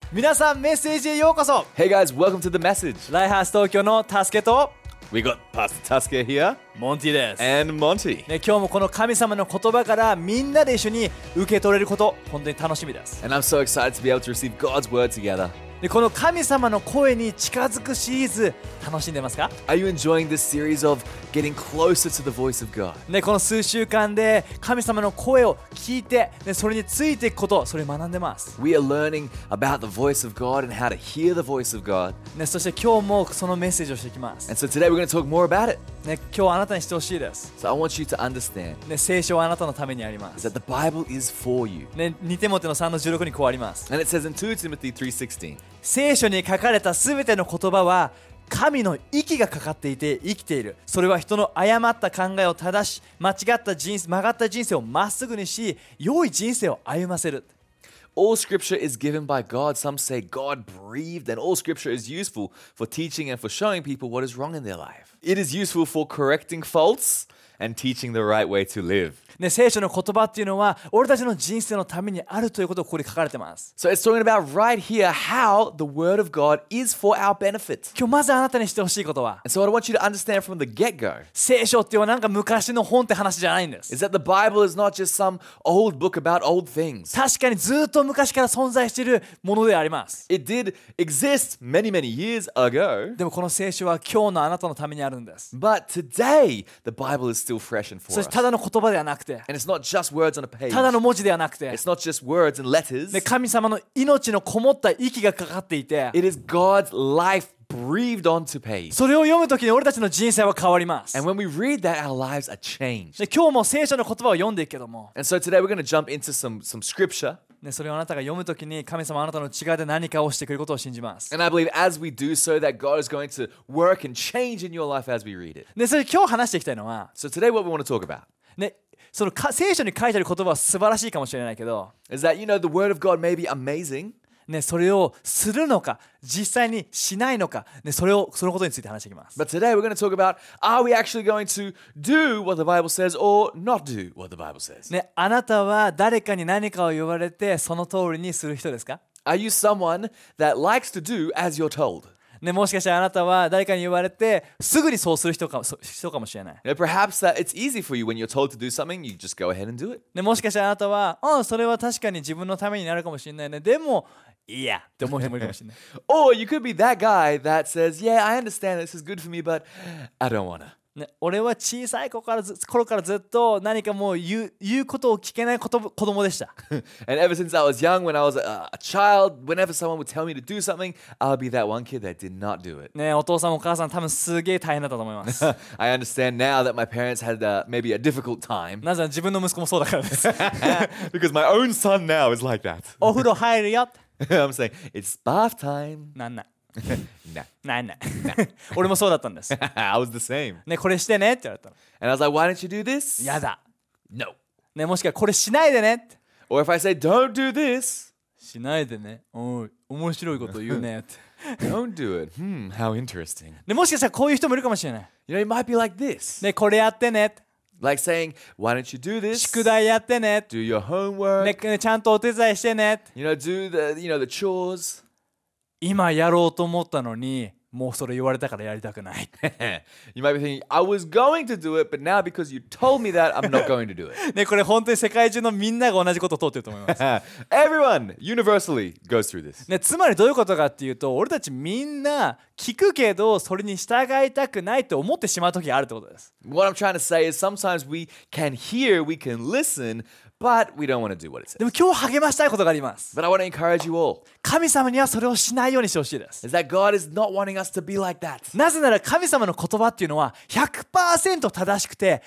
皆さんメッセージへようこそ。 Hey guys, welcome to the message. ライハース東京のタスケと We got Pastor Tasker here モンティです、 and Monty. 今日もこの神様の言葉からみんなで一緒に受け取れること本当に楽しみです。 And I'm so excited to be able to receive God's word together. でこの神様の声に近づくシリーズ楽しんでますか？ Are you enjoying this series of getting closer to the voice of God? この数週間で神様の声を聞いて、それについていくこと、それを学んでます。 We are learning about the voice of God and how to hear the voice of God. そして今日もそのメッセージをしていきます。 And so today we're going to talk more about it. 今日あなたにしてほしいです。 So I want you to understand 聖書はあなたのためにありま is す。 that the Bible is for you. 2テモテの3の16にこうあります。 And it says in 2 Timothy 3:16, 聖書に書かれたすべての言葉は神の息がかかっていて生きている。それは人の誤った考えを正し、曲がった人生をまっすぐにし、良い人生を歩ませる。 all scripture is given by God. Some say God breathed, and all scripture is useful for teaching and for showing people what is wrong in their life. It is useful for correcting faults and teaching the right way to live. 聖書の言葉っていうのは俺たちの人生のためにあるということをここに書かれてます。 So it's talking about right here how the word of God is for our benefit. 今日まずあなたにしてほしいことは、 And so what I want you to understand from the get-go 聖書っていうのはなんか昔の本って話じゃないんです。 is that the Bible is not just some old book about old things. 確かにずっと昔から存在しているものであります。 It did exist many, many years ago. でもこの聖書は今日のあなたのためにあるんです。 But today, the Bible is still fresh and for そ us. してただの言葉ではなくて、 And it's not just words on a page. ただの文字ではなくて、 It's not just words and letters. 神様の命のこもった息がかかっていて、 It is God's life breathed onto page. それを読むときに俺たちの人生は変わります。 And when we read that, our lives are changed. 今日も聖書の言葉を読んでいくけども、 And so today we're going to jump into some scripture. それをあなたが読むときに神様はあなたの内側で何かをしてくれることを信じます。 And I believe as we do so that God is going to work and change in your life as we read it. それ今日話していきたいのは、 So today what we want to talk about その聖書に書いてある言葉は素晴らしいかもしれないけど、 is that, the word of God may be amazing, それをするのか実際にしないのか、そのことについて話していきます。 but today we're going to talk about, are we actually going to do what the Bible says or not do what the Bible says? あなたは誰かに何かを言われてその通りにする人ですか？ Are you someone that likes to do as you're told? もしかしたらあなたは誰かに言われてすぐにそうする人かもしれない。 Perhaps that it's easy for you when you're told to do something, you just go ahead and do it. もしかしたらあなたは、それは確かに自分のためになるかもしれないね。でも、いやって思う人もいるかもしれない。 Or you could be that guy that says, yeah, I understand this is good for me, but I don't want to. 俺は小さい頃からずっと何かもう言うことを聞けない子供でした。 And ever since I was young, when I was a child, whenever someone would tell me to do something, I'll be that one kid that did not do it. お父さんもお母さん多分すげえ大変だったと思います。 I understand now that my parents had maybe a difficult time なぜなら自分の息子もそうだからです。 because my own son now is like that. お風呂入るよ。 I'm saying, it's bath time. なんない。 Nah. ない。俺もそうだったんです。 I was the same. これしてねって言われたの。 And I was like, why don't you do this? やだ。 No. もしくはこれしないでねって。 Or if I say, don't do this, しないでね。おい、面白いこと言うねって。 don't do it. How interesting. もしかしたらこういう人もいるかもしれない。 It might be like this. これやってね。 Like saying, why don't you do this? 宿題やってね。 Do your homework. ちゃんとお手伝いしてね。 Do the chores. 今やろうと思ったのに、もうそれ言われたからやりたくない。 You might be thinking, I was going to do it, but now because you told me that, I'm not going to do it. これ本当に世界中のみんなが同じことを通ってると思います。 Everyone universally goes through this. つまりどういうことかっていうと、俺たちみんな聞くけどそれに従いたくないと思ってしまう時があるってことです。 What I'm trying to say is sometimes we can hear, we can listen, but we don't want to do what it says. でも今日励ましたいことがあります。 But I want to encourage you all 神様にはそれをしないようにしてほしいです。 is that God is not wanting us to be like that. なぜなら神様の言葉っていうのは 100% 正しくて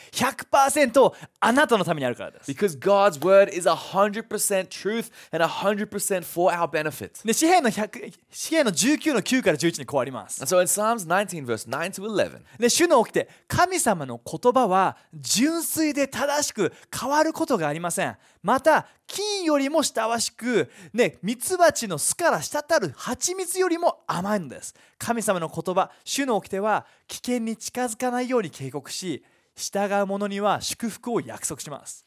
100% あなたのためにあるからです。 Because God's word is 100% truth and 100% for our benefit. 詩篇の19の9から11にこうあります。 And so in Psalms 19 verse 9 to 11, 主の起きて神様の言葉は純粋で正しく変わることがありません。また金よりも親しく、ミツバチの巣から滴る蜂蜜よりも甘いのです。神様の言葉、主の掟は危険に近づかないように警告し、従う者には祝福を約束します。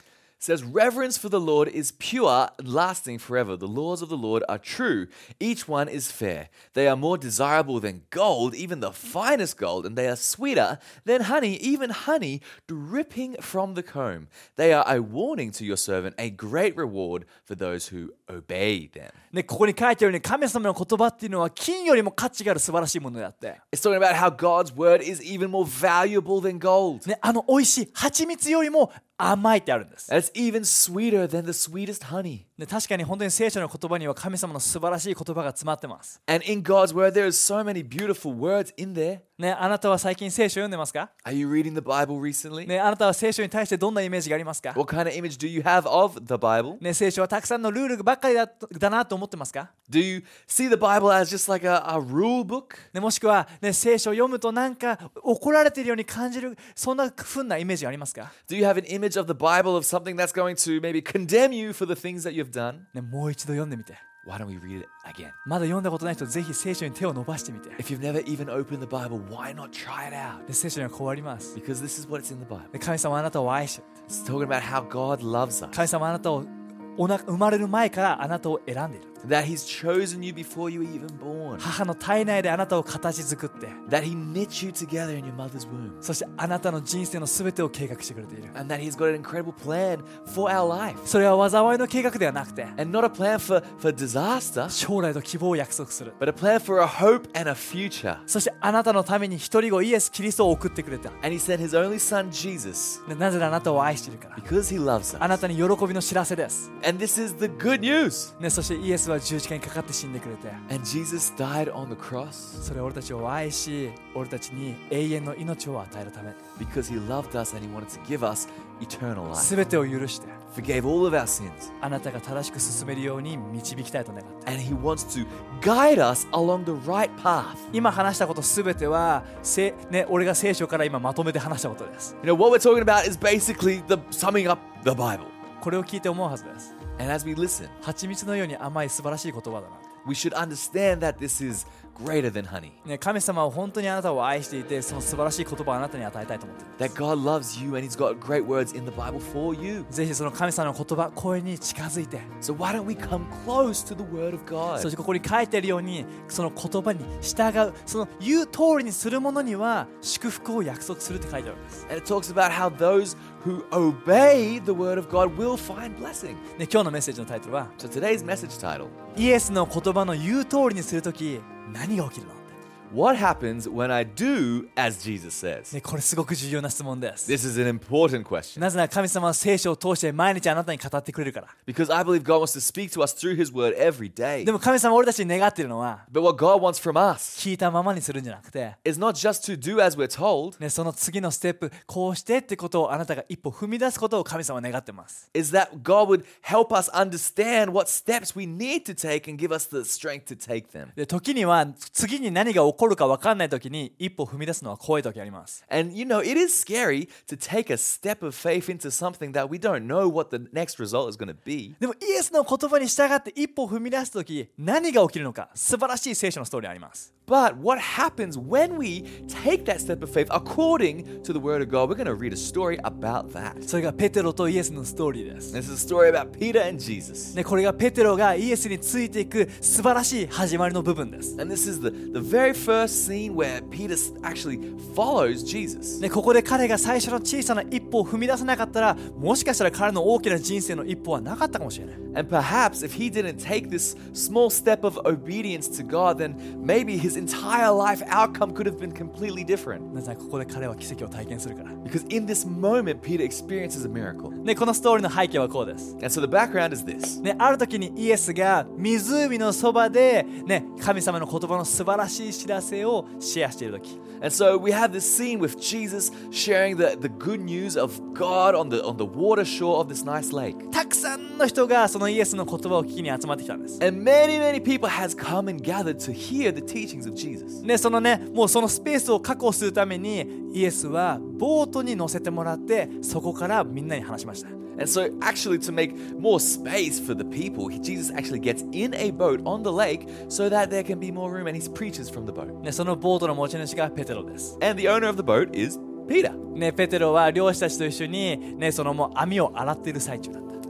says, Reverence for the Lord is pure, lasting forever. The laws of the Lord are true. Each one is fair. They are more desirable than gold, even the finest gold, and they are sweeter than honey, even honey dripping from the comb. They are a warning to your servant, a great reward for those who obey them. ね、ここに書いてあるように神様の言葉っていうのは金よりも価値がある素晴らしいものであって、 It's talking about how God's word is even more valuable than gold. ね、美味しい蜂蜜よりも甘いってあるんです。 And it's even sweeter than the sweetest honey. ね、確かに本当に聖書の言葉には神様の素晴らしい言葉が詰まってます。 And in God's word, there is so many beautiful words in there. ね、あなたは最近聖書を読んでますか？ Are you reading the Bible recently? ね、あなたは聖書に対してどんなイメージがありますか？ What kind of image do you have of the Bible? ね、聖書はたくさんのルールばっかりだなと思ってますか？ Do you see the Bible as just like a rule book? ね、もしくは、ね、聖書を読むとなんか怒られているように感じる、そんな風なイメージがありますか？ Do you have an image of the Bible of something that's going to maybe condemn you for the things that you've done? ね、もう一度読んでみて。 Why don't we read it again? まだ読んだことない人ぜひ聖書に手を伸ばしてみて。 If you've never even opened the Bible, why not try it out? で、聖書にはこうあります。 Because this is what's in the Bible. で、神様はあなたを愛してる。 It's talking about how God loves us. 神様はあなたを生まれる前からあなたを選んでいる。 That He's chosen you before you were even born. 母の体内であなたを形作って、 That He knit you together in your mother's womb. そしてあなたの人生のすべてを計画してくれている。 And that He's got an incredible plan for our life. それは災いの計画ではなくて、 And not a plan for disaster, 将来と希望を約束する。 but a plan for a hope and a future. そしてあなたのために一人子イエス・キリストを送ってくれた。 And He sent His only Son, Jesus, なぜならあなたを愛しているから。 because He loves あ us. なたに喜びの知らせです。 And this is the good news. ね、そしてイエスは十字架にかかって死んでくれて、 And Jesus died on the cross それは俺たちを愛し、俺たちに永遠の命を与えるため、 because He loved us and He wanted to give us eternal life. すべてを許して、 Forgave all of our sins. あなたが正しく進めるように導きたいと願って。 And He wants to guide us along the right path. 今話したことすべては、ね、俺が聖書から今まとめて話したことです。 You know, what we're talking about is basically the summing up the Bible. これを聞いて思うはずです。 And as we listen, 蜂蜜のように甘い素晴らしい言葉だな。 we should understand that this is greater than honey. ね、神様は本当にあなたを愛していて、その素晴らしい言葉をあなたに与えたいと思っている。 That God loves you and He's got great words in the Bible for you. ぜひその神様の言葉、声に近づいて、 So why don't we come close to the Word of そし God? てここに書いてあるように、その言葉に従う、その言う通りにする者には祝福を約束するって書いてあるんです。 And it talks about how those who obey the Word of God will find blessing. ね、今日のメッセージのタイトルは、 So today's message title, イエスの言葉の言う通りにするとき、何が起きるの？ What happens when I do as Jesus says? ね、これすごく重要な質問です。 This is an important question なぜなら神様は聖書を通して毎日あなたに語ってくれるから。 because I believe God wants to speak to us through His Word every day. でも神様は俺たちに願っているのは、 But what God wants from us 聞いたままにするんじゃなくて、 is not just to do as we're told, ね、その次のステップ、こうしてってことをあなたが一歩踏み出すことを神様は願ってます。 is that God would help us understand what steps we need to take and give us the strength to take them. で、時には次に何が起こるか分かんない時に一歩踏み出すのは怖い時あります。 And you know, it is scary to take a step of faith into something that we don't know what the next result is going to be. でもイエスの言葉に従って一歩踏み出す時、何が起きるのか、素晴らしい聖書のストーリーあります。 But what happens when we take that step of faith according to the Word of God? We're going to read a story about that. それがペテロとイエスのストーリーです。 This is a story about Peter and Jesus. ね、これがペテロがイエスについていく素晴らしい始まりの部分です。 And this is the very first scene where Peter actually follows Jesus. ね、ここで彼が最初の小さな一歩を踏み出さなかったら、もしかしたら彼の大きな人生の一歩はなかったかもしれない。 And perhaps if he didn't take this small step of obedience to God, then maybe his entire life outcome could have been completely different. なぜならここで彼は奇跡を体験するから。 Because in this moment, Peter experiences a miracle. ね、このストーリーの背景はこうです。 And so the background is this. ね、ある時にイエスが湖のそばで、ね、神様の言葉の素晴らしい知らせをシェアしている時。 And so we have this scene with Jesus sharing the good news of God on the water shore of this nice lake. たくさんの人がそのイエスの言葉を聞きに集まってきたんです。 And many people has come and gathered to hear the teachings of Jesus. ね、そのね、もうそのスペースを確保するためにイエスはボートに乗せてもらってそこからみんなに話しました。 And so actually to make more space for the people, Jesus actually gets in a boat on the lake so that there can be more room and he preaches from the boat. ね、そのボートの持ち主がペテロです。 And the owner of the boat is Peter. ね、ペテロは漁師たちと一緒に、ね、そのもう網を洗っている最中だ。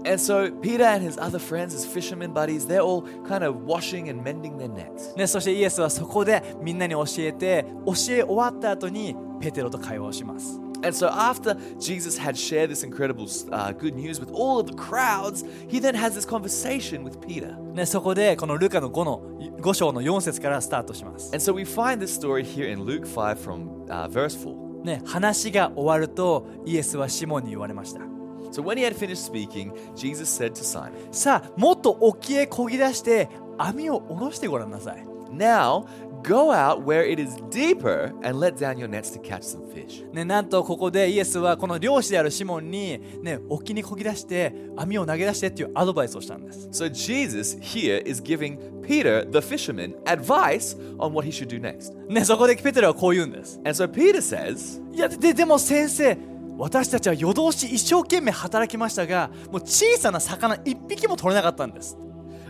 And so Peter and his other friends, his fishermen buddies, they're all kind of washing and mending their nets. ね、そしてイエスはそこでみんなに教え終わった後にペテロと会話をします。 And so after Jesus had shared this incredible good news with all of the crowds, he then has this conversation with Peter. ね、そこでこのルカの5章の4節からスタートします。 And so we find this story here in Luke 5 from verse 4. ね、話が終わるとイエスはシモンに言われました。 So when he had finished speaking, Jesus said to Simon, さあ、もっと沖へ漕ぎ出して網を下ろしてごらんなさい。 Now go out where it is deeper and let down your nets to catch some fish. ね、なんとここでイエスはこの漁師であるシモンに、ね、沖に漕ぎ出して網を投げ出してっていうアドバイスをしたんです。 So Jesus here is giving Peter, the fisherman, advice on what he should do next. ね、そこでペテロはこう言うんです。 And so Peter says, いや、でも先生、私たちは夜通し一生懸命働きましたが、もう小さな魚一匹も取れなかったんです。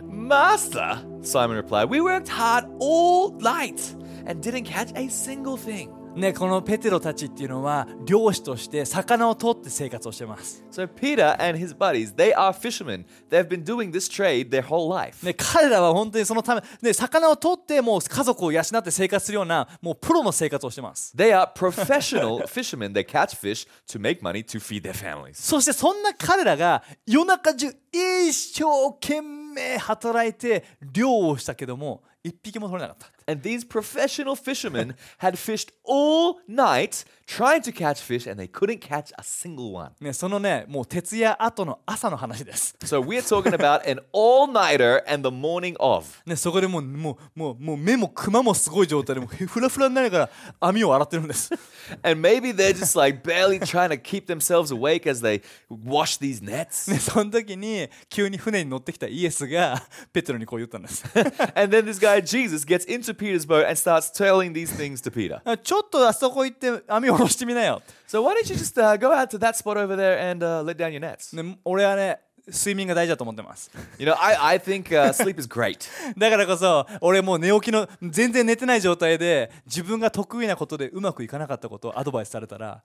Master, Simon replied, we worked hard all night and didn't catch a single thing. ね、このペテロたちっていうのは漁師として魚を取って生活をしてます。 So Peter and his buddies, they are fishermen. They've been doing this trade their whole life. ね、彼らは本当にそのため、ね、魚を取ってもう家族を養って生活するようなもうプロの生活をしてます。 They are professional fishermen. They catch fish to make money to feed their families. そしてそんな彼らが夜中中一生懸命働いて漁をしたけども一匹も取れなかった。 And these professional fishermen had fished all night trying to catch fish and they couldn't catch a single one. ね、そのね、もう徹夜後の朝の話です。 So we're talking about an all-nighter and the morning of. ね、そこでもう目もクマもすごい状態でもうフラフラになりながら網を洗ってるんです。 And maybe they're just like barely trying to keep themselves awake as they wash these nets. ね、その時に急に船に乗ってきたイエスがペテロにこう言ったんです。 And then this guy Jesus gets into Peter's boat and starts telling these things to Peter. ちょっとあそこ行って網を下ろしてみなよ。 So why don't you just go out to that spot over there and let down your nets? ね、俺はね、睡眠が大事だと思ってます。 You know, I think sleep is great. だからこそ俺もう寝起きの全然寝てない状態で自分が得意なことでうまくいかなかったことをアドバイスされたら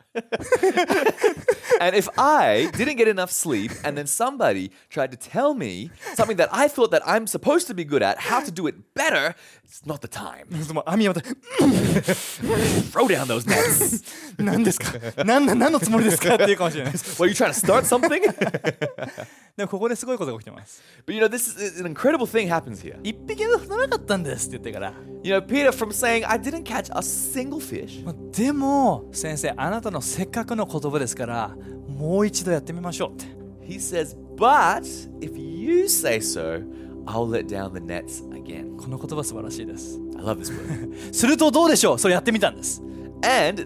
And if I didn't get enough sleep and then somebody tried to tell me something that I thought that I'm supposed to be good at, how to do it better, it's not the time. もう網を Throw down those nets. 何ですか何のつもりですかっていうかもしれないです。 Well, you trying to start something? でもここですごいことが起きてます。 But you know, this is an incredible thing happens here. 一匹も取らなかったんですって言ってから、 You know, Peter from saying, I didn't catch a single fish. でも先生、あなたのせっかくの言葉ですからもう一度やってみましょうって。 He says, but if you say so, I'll let down the nets again. この言葉素晴らしいです。 I love this word. するとどうでしょう。それやってみたんです。 And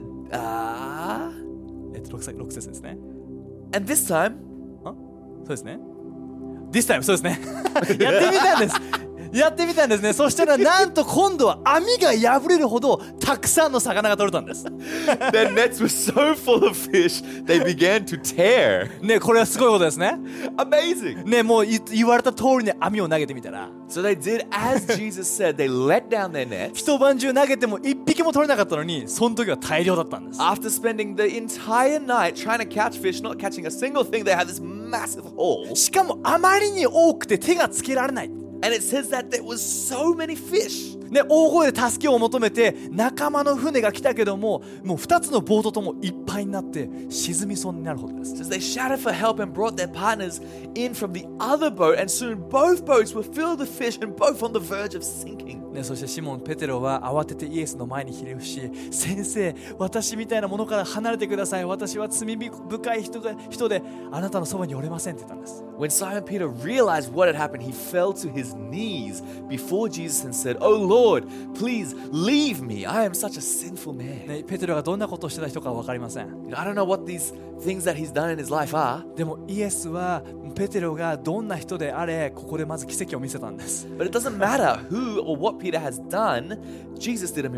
6節ですね。 and this time, そうですね。This time そうですね。やってみたんです。やってみたんですね。そしたらなんと今度は網が破れるほどたくさんの魚が取れたんです。 their nets were so full of fish, they began to tear. ね、これはすごいことですね。 Amazing. ね、もう言われた通りに網を投げてみたら、 So they did as Jesus said. They let down their nets. 一晩中投げても一匹も取れなかったのに、その時は大量だったんです。 After spending the entire night trying to catch fish, not catching a single thing, they had this massive haul. しかもあまりに多くて手がつけられない。 And it says that there was so many fish. ね、大声で助けを求めて仲間の船が来たけども、もう2つのボートともいっぱいになって沈みそうになるほどです。 It says they shouted for help and brought their partners in from the other boat, and soon both boats were filled with fish and both on the verge of sinking. ね、そしてシモン・ペテロは慌ててイエスの前にひれ伏し、先生、私みたいなものから離れてください。私は罪深い人であなたのそばにおれませんって言ったんです。 When Simon Peter realized what had happened, he fell to his knees before Jesus and said, "Oh Lord, please leave me. I am such a sinful man." ね、ペテロがどんなことをしてた人かは分かりません。 I don't know what these things that he's done in his life are. でもイエスはペテロがどんな人であれ、ここでまず奇跡を見せたんです。 But it doesn't matter who or what Peter has done, Jesus did a miracle.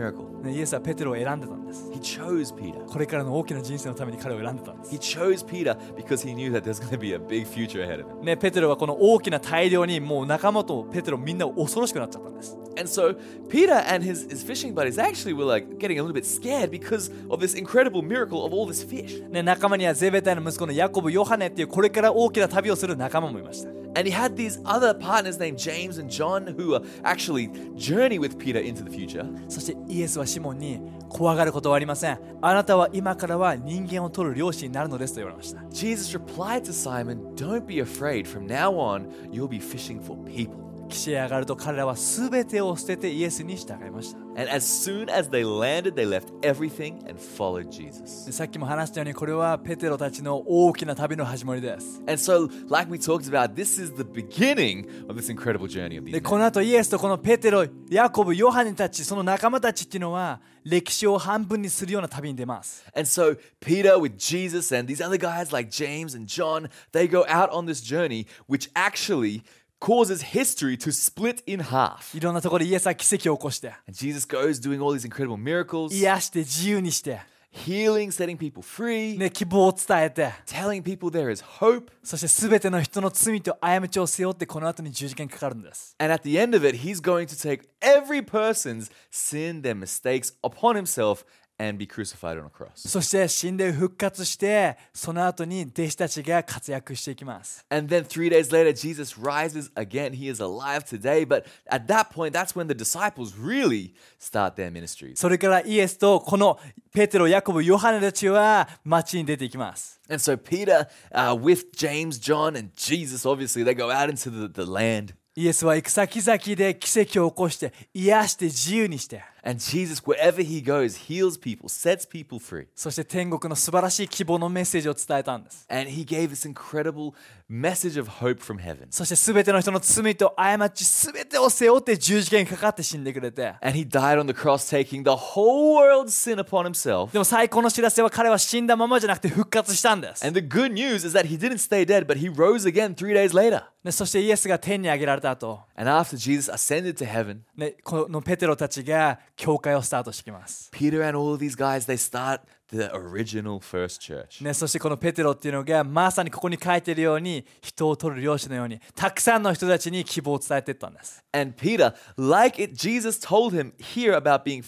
ね、イエスはペテロを選んでたんです。 He chose Peter. これからの大きな人生のために彼を選んでたんです。 He chose Peter because he knew that there's going to be a big future ahead of him. ね、ペテロはこの大きな大量にもう仲間とペテロみんな恐ろしくなっちゃったんです。 And so Peter and his fishing buddies actually were like getting a little bit scared because of this incredible miracle of all this fish. ね、仲間にはゼベダイの息子のヤコブ、ヨハネっていうこれから大きな旅をする仲間もいました。 And he had these other partners named James and John who are actually journey with Peter into the future. そしてイエスはシモンに怖がることはありません。あなたは今からは人間を取る漁師になるのですと言われました。 Jesus replied to Simon, "Don't be afraid. From now on, you'll be fishing for people." 岸へ上がると彼らは全てを捨ててイエスに従いました。 And as soon as they landed, they left everything and followed Jesus. でさっきも話したようにこれはペテロたちの大きな旅の始まりです。 And so, like we talked about, this is the beginning of this incredible journey of で these こ men. の後イエスとこのペテロ、ヤコブ、ヨハネたち、その仲間たちっていうのは歴史を半分にするような旅に出ます。 And so, Peter with Jesus and these other guys like James and John, they go out on this journey, which actually causes history to split in half. いろんなところでイエスは奇跡を起こして、 And Jesus goes doing all these incredible miracles, 癒して自由にして、 healing, setting people free, ね、希望を伝えて、 telling people there is hope. そして全ての人の罪と過ちを背負ってこの後に十字架にかかるんです。 And at the end of it, he's going to take every person's sin, their mistakes upon himself and be crucified on a cross. そして死んで復活して、その後に弟子たちが活躍していきます。 And then 3 days later, Jesus rises again. He is alive today. But at that point, that's when the disciples really start their ministries. それからイエスとこのペテロ、ヤコブ、ヨハネたちは街に出ていきます。 And so Peter, with James, John, and Jesus, obviously, they go out into the land. イエスは行く先々で奇跡を起こして癒して自由にして、 And Jesus, wherever he goes, heals people, sets people free. そして天国の素晴らしい希望のメッセージを伝えたんです。 And he gave this incredible message of hope from heaven. そして全ての人の罪と過ち全てを背負って十字架にかかって死んでくれて、 And he died on the cross, taking the whole world's sin upon himself. でも最高の知らせは彼は死んだままじゃなくて復活したんです。 And the good news is that he didn't stay dead, but he rose again 3 days later. でそしてイエスが天に上げられた後、 And after Jesus ascended to heaven, ね、このペテロたちが教会をスタートしてきます。 Peter and all of these guys, they start the original first church. ね、そしてこのペテロっていうのがまさにここに書いてるように人を取る漁師のようにたくさんの人たちに希望を伝えていったんです。 And Peter, like it, Jesus told him here about being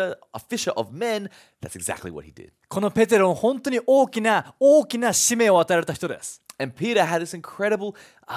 a fisher of men, that's exactly what he did. このペテロは本当に大きな使命を与えられた人です。 And Peter had this incredible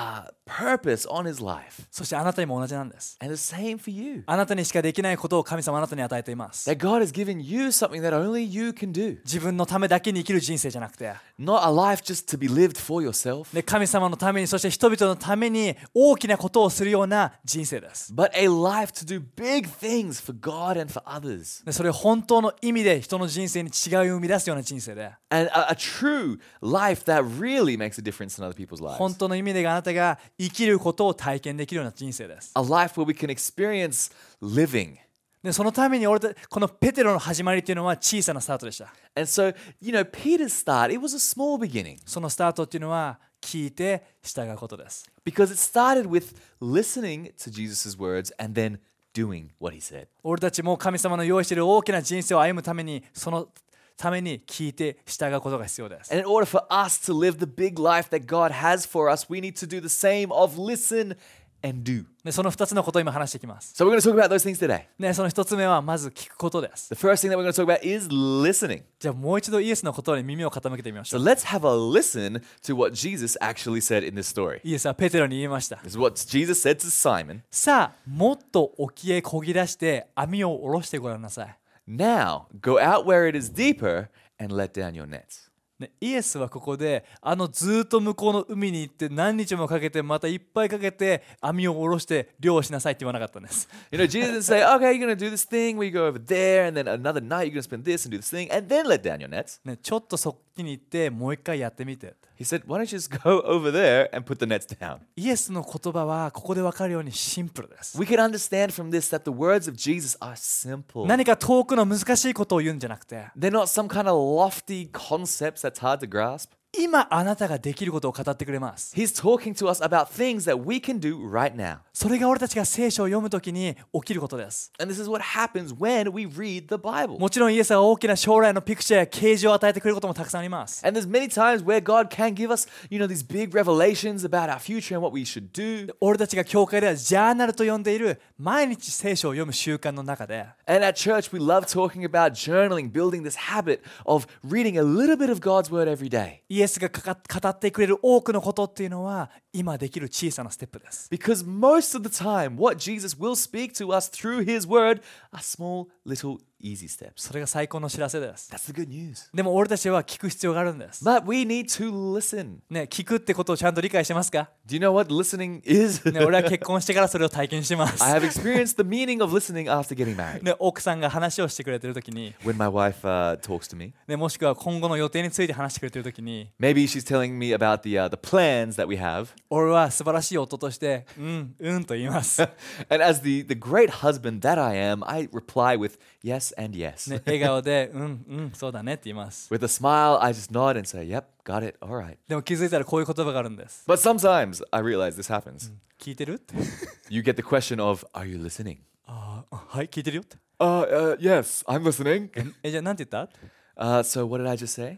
purpose on his life. そしてあなたにも同じなんです。 And the same for you. あなたにしかできないことを神様あなたに与えています。 That God has given you something that only you can do. 自分のためだけに生きる人生じゃなくて、 Not a life just to be lived for yourself, ね、神様のためにそして人々のために大きなことをするような人生です。 but a life to do big things for God and for others. でそれを本当の意味で人の人生に違いを生み出すような人生で、 And a true life that really makes a difference in other people's lives. 本当の意味であなたが生きることを体験できるような人生です。 A life where we can experience living. でそのためにこのペテロの始まりっていうのは小さなスタートでした。 And so, Peter's start, it was a small beginning そのスタートっていうのは聞いて従うことです。 because it started with listening to Jesus' words and then doing what he said. 俺たちも神様の用意している大きな人生を歩むためにそのために聞いて従うことが必要です。 And in order for us to live the big life that God has for us, we need to do the same of listen and do. でその2つのことを今話していきます。 So we're going to talk about those things today. ね、その1つ目はまず聞くことです。 The first thing that we're going to talk about is listening. じゃあもう一度イエスの言葉に耳を傾けてみましょ So う。 let's have a listen to what Jesus actually said in this story. イエスはペテロに言いました。 This is what Jesus said to Simon. さあ、もっと沖へ漕ぎ出して網を下ろしてごらんなさい。 Now go out where it is deeper and let down your nets. ね、イエスはここでずっと向こうの海に行って何日もかけてまたいっぱいかけて網を下ろして漁をしなさいって言わなかったんです。 Jesus didn't say, okay, you're going to do this thing where you go over there and then another night you're going to spend this and do this thing and then let down your nets. ね、ちょっとそっちに行ってもう一回やってみて。 He said, why don't you just go over there and put the nets down? イエスの言葉はここで分かるようにシンプルです。 We can understand from this that the words of Jesus are simple. 何か遠くの難しいことを言うんじゃなくて、 They're not some kind of lofty concepts that's hard to grasp. 今あなたができることを語ってくれます。 He's talking to us about things that we can do right now. それが俺たちが聖書を読むときに起きることです。 And this is what happens when we read the Bible. もちろんイエスは大きな将来のピクチャーや啓示を与えてくれることもたくさんあります。 And there's many times where God can give us, these big revelations about our future and what we should do. 俺たちが教会ではジャーナルと呼んでいる毎日聖書を読む習慣の中で、 And at church, we love talking about journaling, building this habit of reading a little bit of God's word every day. イエスが語ってくれる多くのことっていうのは今できる小さなステップです。 Because most of the time, what Jesus will speak to us through his word are small, little, easy steps. それが最高の知らせです。 That's the good news. でも俺たちは聞く必要があるんです。 But we need to listen. ね、聞くってことをちゃんと理解してますか？ Do you know what listening is? ね、俺は結婚してからそれを体験してます。 I have experienced the meaning of listening after getting married. ね、奥さんが話をしてくれてるときに、 When my wife talks to me, ね、もしくは今後の予定について話してくれてるときに、 maybe she's telling me about the plans that we have. 俺は素晴らしい夫としてと言います。 And as the great husband that I am, I reply with yes and yes. ね、笑顔でそうだねって言います。 With a smile, I just nod and say, yep, got it, all right. でも気づいたらこういう言葉があるんです。 But sometimes I realize this happens. 聞いてるって。 You get the question of, are you listening? はい、聞いてるよって。 Yes, I'm listening. じゃあなんて言った？ So what did I just say?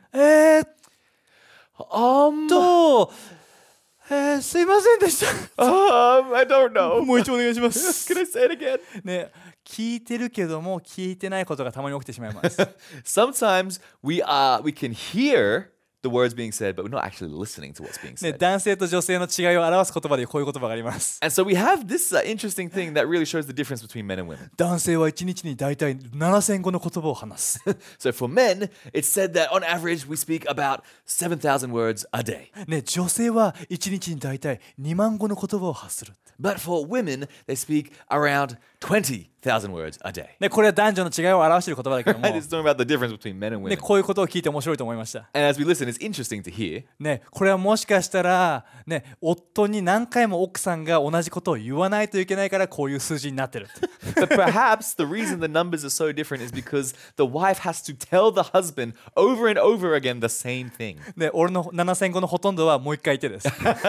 すいませんでした。 I don't know. もう一度お願いします。 Can I say it again? ね、聞いてるけども聞いてないことがたまに起きてしまいます。 Sometimes we can hear the words being said, but we're not actually listening to what's being ね、 said. 男性と女性の違いを表す言葉でこういう言葉があります。 And so we have this interesting thing that really shows the difference between men and women. 男性は1日に大体7000語の言葉を話す。 So for men, it's said that on average we speak about 7,000 words a day. ね、女性は1日に大体2万語の言葉を発する。 But for women, they speak around 20,000 words a day. ね、これは男女の違いを表している言葉だけども、 And it's talking about the difference between men and ね、 women. こういうことを聞いて面白いと思いました。 And as we listen, it's interesting to hear. ね、これはもしかしたら、ね、夫に何回も奥さんが同じことを言わないといけないからこういう数字になってる。 But perhaps the reason the numbers are so different is because the wife has to tell the husband over and over again the same thing. ね、俺の7000語のほとんどはもう一回言ってです。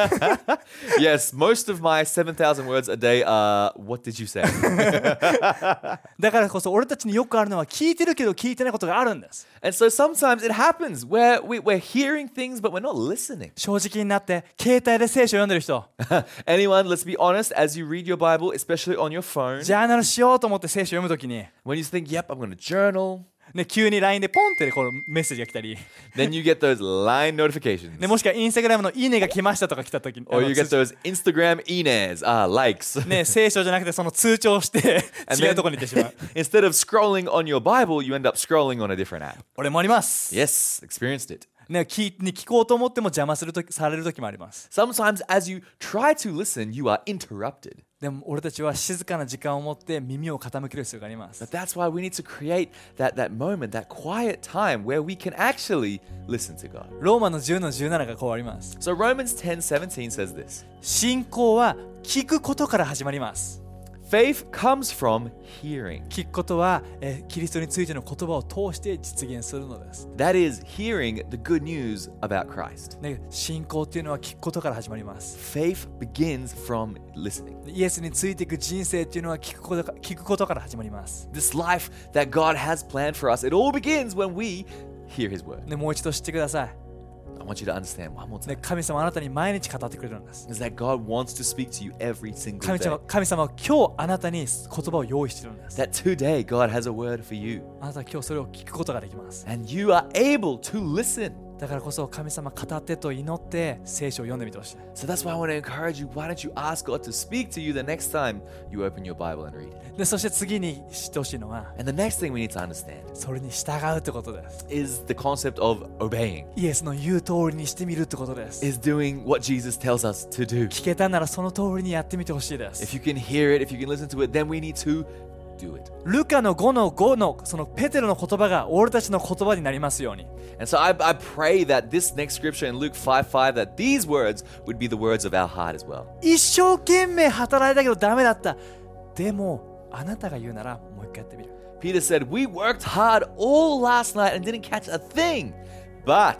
Yes, most of my 7,000 words a day are, what did you say? だからこそ俺たちによくあるのは聞いてるけど聞いてないことがあるんです。 And so sometimes it happens where we're hearing things but we're not listening. 正直になって携帯で聖書を読んでる人、 Anyone, let's be honest, as you read your Bible, especially on your phone, ジャーナルしようと思って聖書を読むときに、 when you think, yep, I'm going to journal, ね、急に LINE でポンってこうメッセージが来たり、 then you get those line notifications. ね、もしくはインスタグラムのいいねが来ましたとか来たときに、 Or you get those Instagram ines, likes. ね、聖書じゃなくてその通知をして違うところに行ってしまう。 Instead of scrolling on your Bible, you end up scrolling on a different app. 俺もあります。 Yes, experienced it. ね、聞こうと思っても邪魔される時もあります。 Sometimes as you try to listen, you are interrupted. でも俺たちは静かな時間を持って耳を傾ける必要があります。 But that's why we need to create that moment, that quiet time where we can actually listen to God. ローマの10の17がこうあります。 So Romans 10:17 says this. 信仰は聞くことから始まります。 Faith comes from hearing. 聞くことは、キリストについての言葉を通して実現するのです。 That is hearing the good news about Christ. ね、信仰っていうのは聞くことから始まります。 Faith begins from listening. イエスについていく人生っていうのは聞くことから始まります。 This life that God has planned for us, it all begins when we hear His word. ね、もう一度知ってください。 I want you to understand one more ね、 time. 神様はあなたに毎日語ってくれるんです。 Is that God wants to speak to you every single 神 day. 様は今日あなたに言葉を用意しているんです。 That today God has a word for you. あなたは今日それを聞くことができます。 And you are able to listen. だからこそ神様語ってと祈って聖書を読んでみてほしい。 So that's why I want to encourage you. Why don't you ask God to speak to you the next time you open your Bible and read it? でそして次に知ってほしいのは And the next thing we need to understand それに従うってことです。 is the concept of obeying, イエスの言う通りにしてみるってことです。 is doing what Jesus tells us to do. 聞けたならその通りにやってみてほしいです。 If you can hear it, if you can listen to it, then we need to do it. ルカの5の5のそのペテロの言葉が俺たちの言葉になりますように。 And so I pray that this next scripture in Luke 5:5, that these words would be the words of our heart as well. 一生懸命働いたけどダメだった。でもあなたが言うならもう一回やってみる。 Peter said, we worked hard all last night and didn't catch a thing. But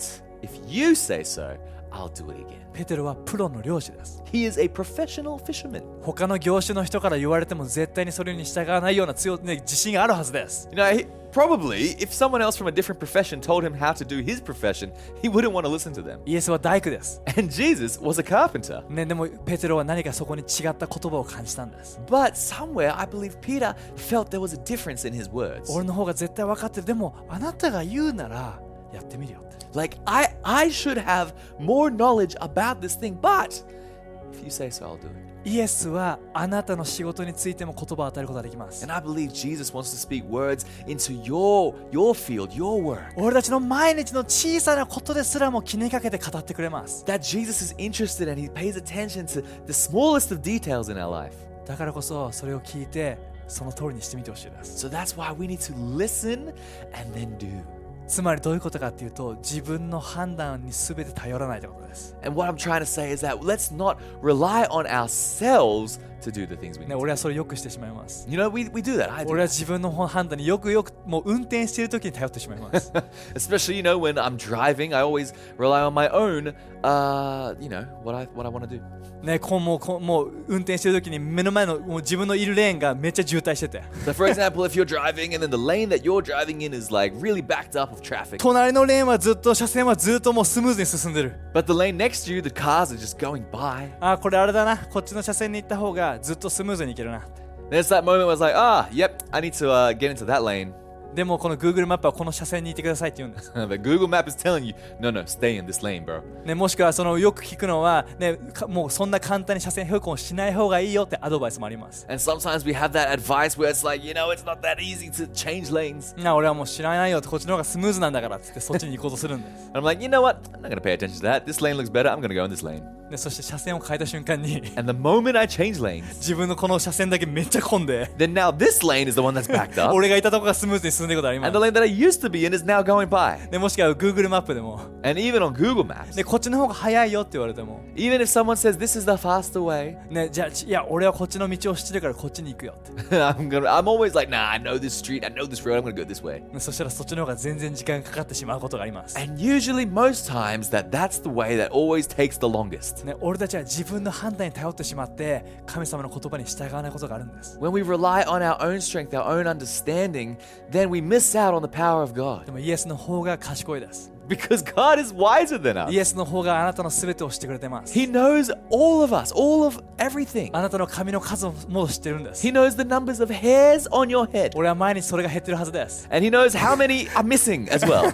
If you say so, I'll do it again. ペテロはプロの漁師です。 He is a professional fisherman. 他の業種の人から言われても絶対にそれに従わないような自信があるはずです。 You know, probably if someone else from a different profession told him how to do his profession, he wouldn't want to listen to them. イエスは大工です。 And Jesus was a carpenter. でもペテロは何かそこに違った言葉を感じたんです。 But somewhere, I believe Peter felt there was a difference in his words. 俺の方が絶対分かってる。でもあなたが言うならやってみるよって。 Like, I should have more knowledge about this thing, but if you say so, I'll do it. イエスはあなたの仕事についても言葉を与えることができます。 And I believe Jesus wants to speak words into your field, your work. 俺たちの毎日の小さなことですらも気にかけて語ってくれます。 That Jesus is interested and he pays attention to the smallest of details in our life. だからこそそれを聞いてその通りにしてみてほしいです。 So that's why we need to listen and then do. つまりどういうことかっていうと、自分の判断に全て頼らないということです。 And what I'm trying to say is that let's not rely on ourselves to do the things we need ね、俺はそれよくしてしまいます。 to. You know, we do that. I do 俺は that. 自分の判断によくもう運転している時に頼ってしまいます。 Especially, you know, when I'm driving, I always rely on my own, what I want to do. ね、もう運転してる時に目の前のもう自分のいるレーンがめっちゃ渋滞してて、 So, for example, if you're driving and then the lane that you're driving in is like really backed up of traffic, 隣のレーンは車線はずっともうスムーズに進んでる。 but the lane next to you, the cars are just going by. あ、これあれだな、こっちの車線に行った方がずっとスムーズに行けるな。 There's that moment where it's like, yep, I need to get into that lane. でもこの Google マップはこの車線にいてくださいって言うんです。 But Google Map is telling you, no, stay in this lane, bro. ね、もしくはよく聞くのは、ね、もうそんな簡単に車線変更しない方がいいよってアドバイスもあります。 And sometimes we have that advice where it's like, it's not that easy to change lanes. 俺はもう知らないよって、こっちの方がスムーズなんだからって言ってそっちに行こうとするんです。 And I'm like, you know what? I'm not going to pay attention to that. This lane looks better. I'm going to go in this lane. でそして車線を変えた瞬間に And the moment I change lanes, 自分のこの車線だけめっちゃ混んで、 then now this lane is the one that's backed up. 俺がいたとこがスムーズに進んでいくことありま And the す。 lane that I used to be in is now going by. でもしくは Google マップでも、 And even on Google Maps, でこっちの方が早いよって言われても、 even if someone says this is the faster way, ね、じゃあいや俺はこっちの道を知ってるからこっちに行くよって。 I'm always like, nah, I know this street, I know this road, I'm going to go this way. ね、そしたらそっちの方が全然時間がかかってしまうことがあります。 And usually, most times, that's the way that always takes the longest. ね、俺たちは自分の判断に頼ってしまって神様の言葉に従わないことがあるんです。 When we rely on our own strength, our own understanding, then we miss out on the power of God. でもイエスの方が賢いです。 Because God is wiser than us. イエスの方があなたの全てを知ってくれてます。 He knows all of us, all of everything. あなたの髪の数も知ってるんです。 He knows the numbers of hairs on your head. 俺は毎日それが減ってるはずです。 And He knows how many are missing as well.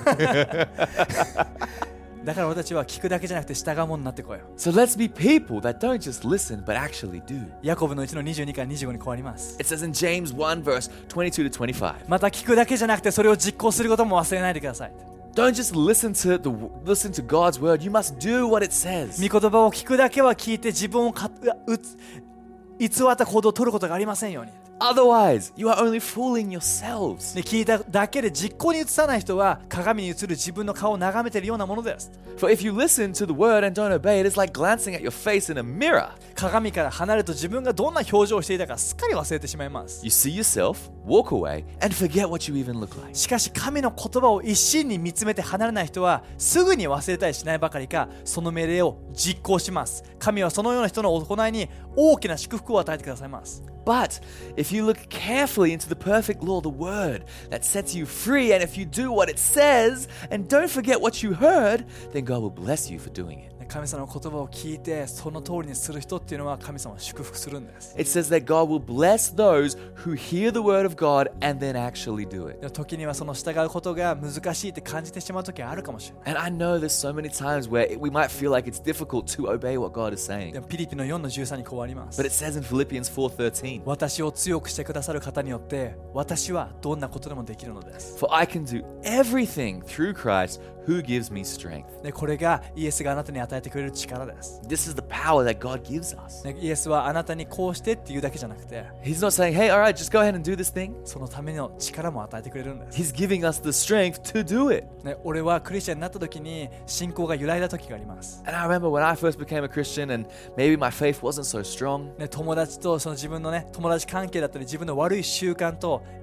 だから俺たちは聞くだけじゃなくて従うものになってこいよ。 So let's be people that don't just listen, but actually do. ヤコブの1の22から25にこうあります。 It says in James 1 verse 22 to 25. また聞くだけじゃなくてそれを実行することも忘れないでください。 Don't just listen to God's word. You must do what it says. 御言葉を聞くだけは聞いて自分を偽った行動を取ることがありませんように。 Otherwise, you are only fooling yourselves. で聞いただけで実行に移さない人は鏡に映る自分の顔を眺めているようなものです。 For if you listen to the word and don't obey, it is like glancing at your face in a mirror. 鏡から離れると自分がどんな表情をしていたかすっかり忘れてしまいます。 You see yourself, walk away, and forget what you even look like. しかし神の言葉を一心に見つめて離れない人はすぐに忘れたりしないばかりかその命令を実行します。神はそのような人の行いに大きな祝福を与えてくださいます。 But if you look carefully into the perfect law, the word that sets you free, and if you do what it says and don't forget what you heard, then God will bless you for doing it. 神様の言葉を聞いてその通りにする人っていうのは神様を祝福するんです。 It says that God will bless those who hear the word of God and then actually do it. でも時にはその従うことが難しいって感じてしまう時はあるかもしれない。 And I know there's so many times where we might feel like it's difficult to obey what God is saying. でもピリピの4の13にこうあります。 But it says in Philippians 4:13, 私を強くしてくださる方によって私はどんなことでもできるのです。 For I can do everything through Christ who gives me strength. でこれがイエスがあなたに与えてくれる力です。 This is the power that God gives us. イエスはあなたにこうしてっていうだけじゃなくて He's not saying, hey, all right, just go ahead and do this thing. そのための力も与えてくれるんです。 He's giving us the strength to do it. 俺はクリスチャンになった時に信仰が揺らいだ時があります。 And I remember when I first became a Christian and maybe my faith wasn't so strong. 友達とその自分の友達関係だったり自分の悪い習慣と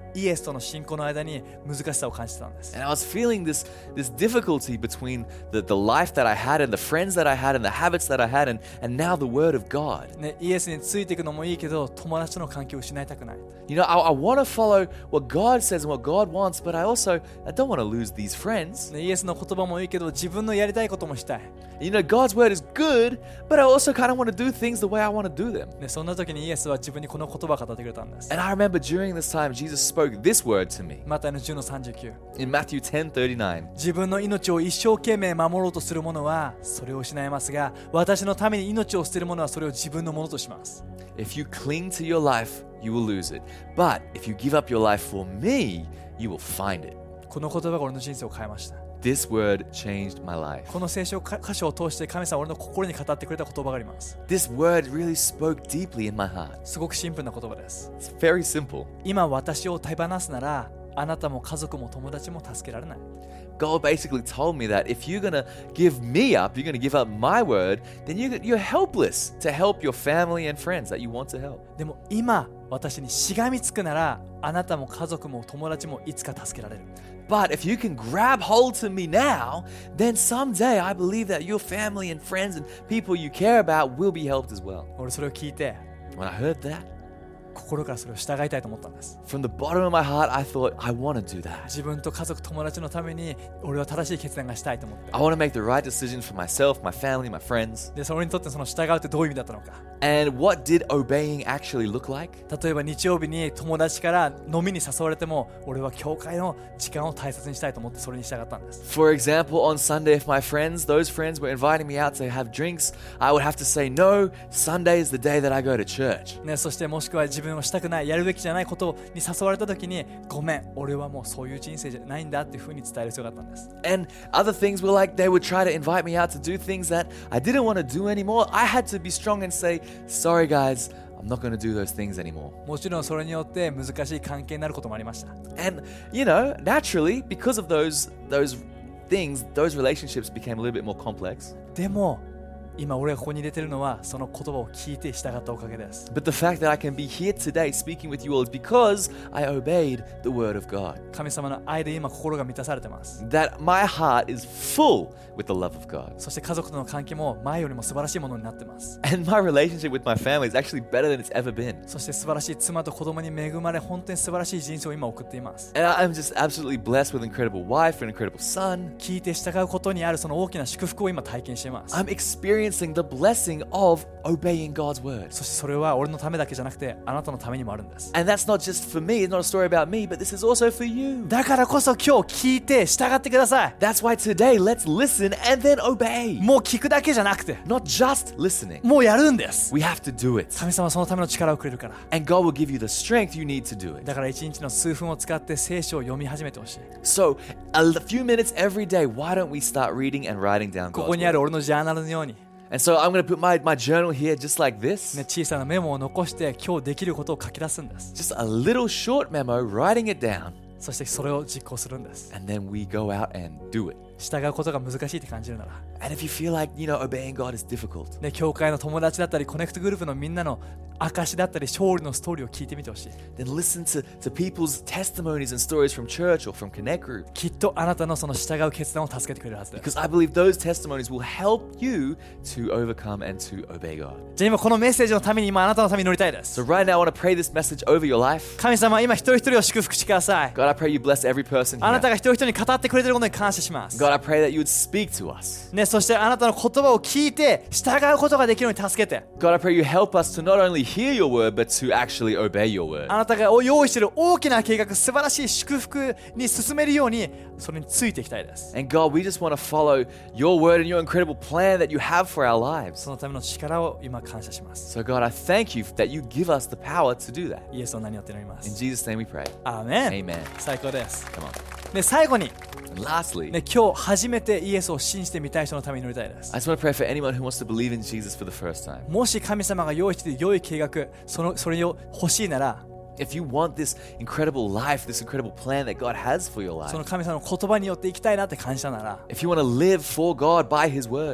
イエスとの信仰の間に難しさを感じてたんです。 And I was feeling this difficulty between the life that I had and the friends that I had and the habits that I had and now the word of God. ね、イエスについていくのもいいけど友達との関係を失いたくない。 You know, I want to follow what God says and what God wants, but I don't want to lose these friends. ね、イエスの言葉もいいけど自分のやりたいこともしたい。 You know, God's word is good, but I also kind of want to do things the way I want to do them. ね、そんな時にイエスは自分にこの言葉を語ってくれたんです。 And I remember during this time, Jesus spoke this word to me マタイの10の39。 in Matthew 10:39. 自分の命を一生懸命守ろうとする者はそれを失いますが、私のために命を捨てる者はそれを自分のものとします。 If you cling to your life, you will lose it. But if you give up your life for me, you will find it. この言葉が俺の人生を変えました。 This word changed my life. この聖書箇所を通して神様は俺の心に語ってくれた言葉があります。 This word really spoke deeply in my heart. すごくシンプルな言葉です。 It's very simple. 今私を手放すなら、あなたも家族も友達も助けられない。 God basically told me that if you're going to give me up, you're going to give up my word, then you're helpless to help your family and friends that you want to help. でも今私にしがみつくなら、あなたも家族も友達もいつか助けられる。 But if you can grab hold to me now, then someday I believe that your family and friends and people you care about will be helped as well. 俺それを聞いて、 When I heard that, 心からそれを従いたいと思ったんです。 from the bottom of my heart, I thought, I want to do that. 自分と家族友達のために俺は正しい決断がしたいと思って。 I want to make the right decisions for myself, my family, my friends. で、それにとってその従うってどういう意味だったのか。 And what did obeying actually look like? 例えば日曜日に友達から飲みに誘われても、俺は教会の時間を大切にしたいと思ってそれに従ったんです。 For example, on Sunday, if those friends were inviting me out to have drinks, I would have to say, no, Sunday is the day that I go to church. ね、そしてもしくは自分をしたくない、やるべきじゃないことに誘われた時に、ごめん、俺はもうそういう人生じゃないんだっていうふうに伝える必要があったんです。 And other things were like they would try to invite me out to do things that I didn't want to do anymore. I had to be strong and say, sorry guys, I'm not going to do those things anymore. もちろんそれによって難しい関係になることもありました。 And, you know, naturally, because of those things, those relationships became a little bit more complex. でも今俺がここに入れてるのはその言葉を聞いて従ったおかげです。 But the fact that I can be here today speaking with you all is because I obeyed the word of God. 神様の愛で今心が満たされてます。 That my heart is full with the love of God. そして家族との関係も前よりも素晴らしいものになってます。 And my relationship with my family is actually better than it's ever been. そして素晴らしい妻と子供に恵まれ、本当に素晴らしい人生を今送っています。 And I'm just absolutely blessed with an incredible wife and an incredible son. 聞いて従うことにあるその大きな祝福を今体験しています。 I'm experiencing the blessing of obeying God's word. そしてそれは俺のためだけじゃなくてあなたのためにもあるんです。 And that's not just for me, it's not a story about me, but this is also for you. だからこそ今日聞いて従ってください。 That's why today let's listen and then obey. もう聞くだけじゃなくて Not just listening. もうやるんです。 We have to do it. 神様はそのための力をくれるから。 And God will give you the strength you need to do it. だから一日の数分を使って聖書を読み始めてほしい。 So, a few minutes every day, why don't we start reading and writing down こ God's こにあ word? る俺のジャーナルのように、 And so I'm going to put my journal here just like this. ね、小さなメモを残して今日できることを書き出すんです。 Just a little short memo, writing it down. そしてそれを実行するんです。 And then we go out and do it. 従うことが難しいって感じるなら、 And if you feel like, obeying God is difficult, ね、教会の友達だったりコネクトグループのみんなの証だったり勝利のストーリーを聞いてみてほしい。 then listen to people's testimonies and stories from church or from Connect Group. きっとあなたのその従う決断を助けてくれるはずです。 Because I believe those testimonies will help you to overcome and to obey God. じゃあ今このメッセージのために今あなたのために祈りたいです。 So right now I want to pray this message over your life. 神様今一人一人を祝福してください。 God, I pray you bless every person あなた here. が一人一人に語ってくれていることに感謝します。 God, I pray that you would speak to us. ね、そしてあなたの言葉を聞いて従うことができるように助けて、 God, I pray you help us to not only hear your word, but to actually obey your word. あなたが用意している大きな計画、素晴らしい祝福に進めるようにそれについていきたいです。 And God, we just want to follow your word and your incredible plan that you have for our lives. そのための力を今感謝します。 So God, I thank you that you give us the power to do that. イエスの名によって祈りま In す。 Jesus' name we pray. アーメン。 Amen. 最高です。 Come on. で最後に、 And lastly, ね、今日初めてイエスを信じてみたい人のために祈りたいです。 I just want to pray for anyone who wants to believe in Jesus for the first time. もし神様が用意している良い計画、それを欲しいなら、 If you want this incredible life, this incredible plan that God has for your その life, 神様の言葉によって生きたいなって感じたなら、 if you want to live for God by His word,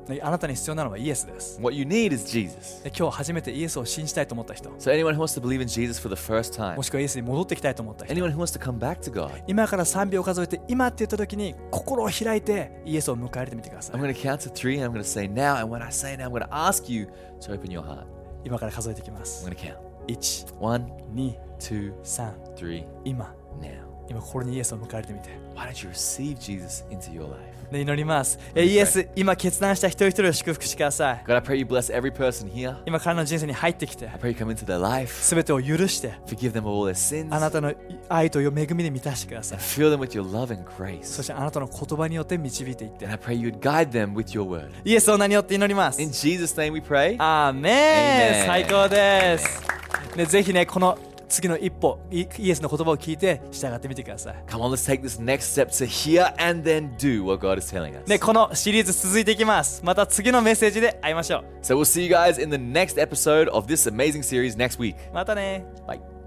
ね、あなたに必要なのはイエスです。 What you need is Jesus. で今日初めてイエスを信じたいと思った人、 So anyone who wants to believe in Jesus for the first time, もしくはイエスに戻ってきたいと思った人、 anyone who wants to come back to God, 今から3秒数えて今って言った時に心を開いてイエスを迎え入れてみてください。 I'm going to count to 3 and I'm going to say now. And when I say now, I'm going to ask you to open your heart. 今から数えていきま I'm す。 going to count. 1、 1, 2、 2, 3、 3, 今 now. 心にイエスを迎え入れてみて、 Why don't you receive Jesus into your life? ね、祈ります。イエス、今決断した一人一人を祝福してください。 God, I pray you bless every person here. 今彼の人生に入ってきて I pray you come into their life, すべてを許して forgive them of all their sins, あなたの愛と恵みで満たしてください。 fill them with your love and そ grace. してあなたの言葉によって導いていって、 And I pray you would guide them with your word. イエスの名によって祈ります。 In Jesus' name we pray. アーメン。 Amen 最高です。ね、ぜひね、この次の一歩、イエスの言葉を聞いて従ってみてください。 Come on, let's take this next step to hear and then do what God is telling us. ね、このシリーズ続いていきます。また次のメッセージで会いましょう。 So we'll see you guys in the next episode of this amazing series next week. またね。 Bye.